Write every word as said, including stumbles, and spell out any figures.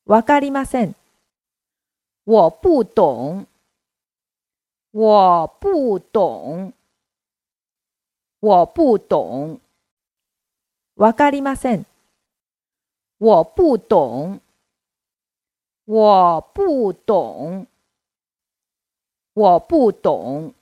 わかりません。 我不懂，我不懂，我不懂， わかりません。 我不懂，我不懂，我不懂。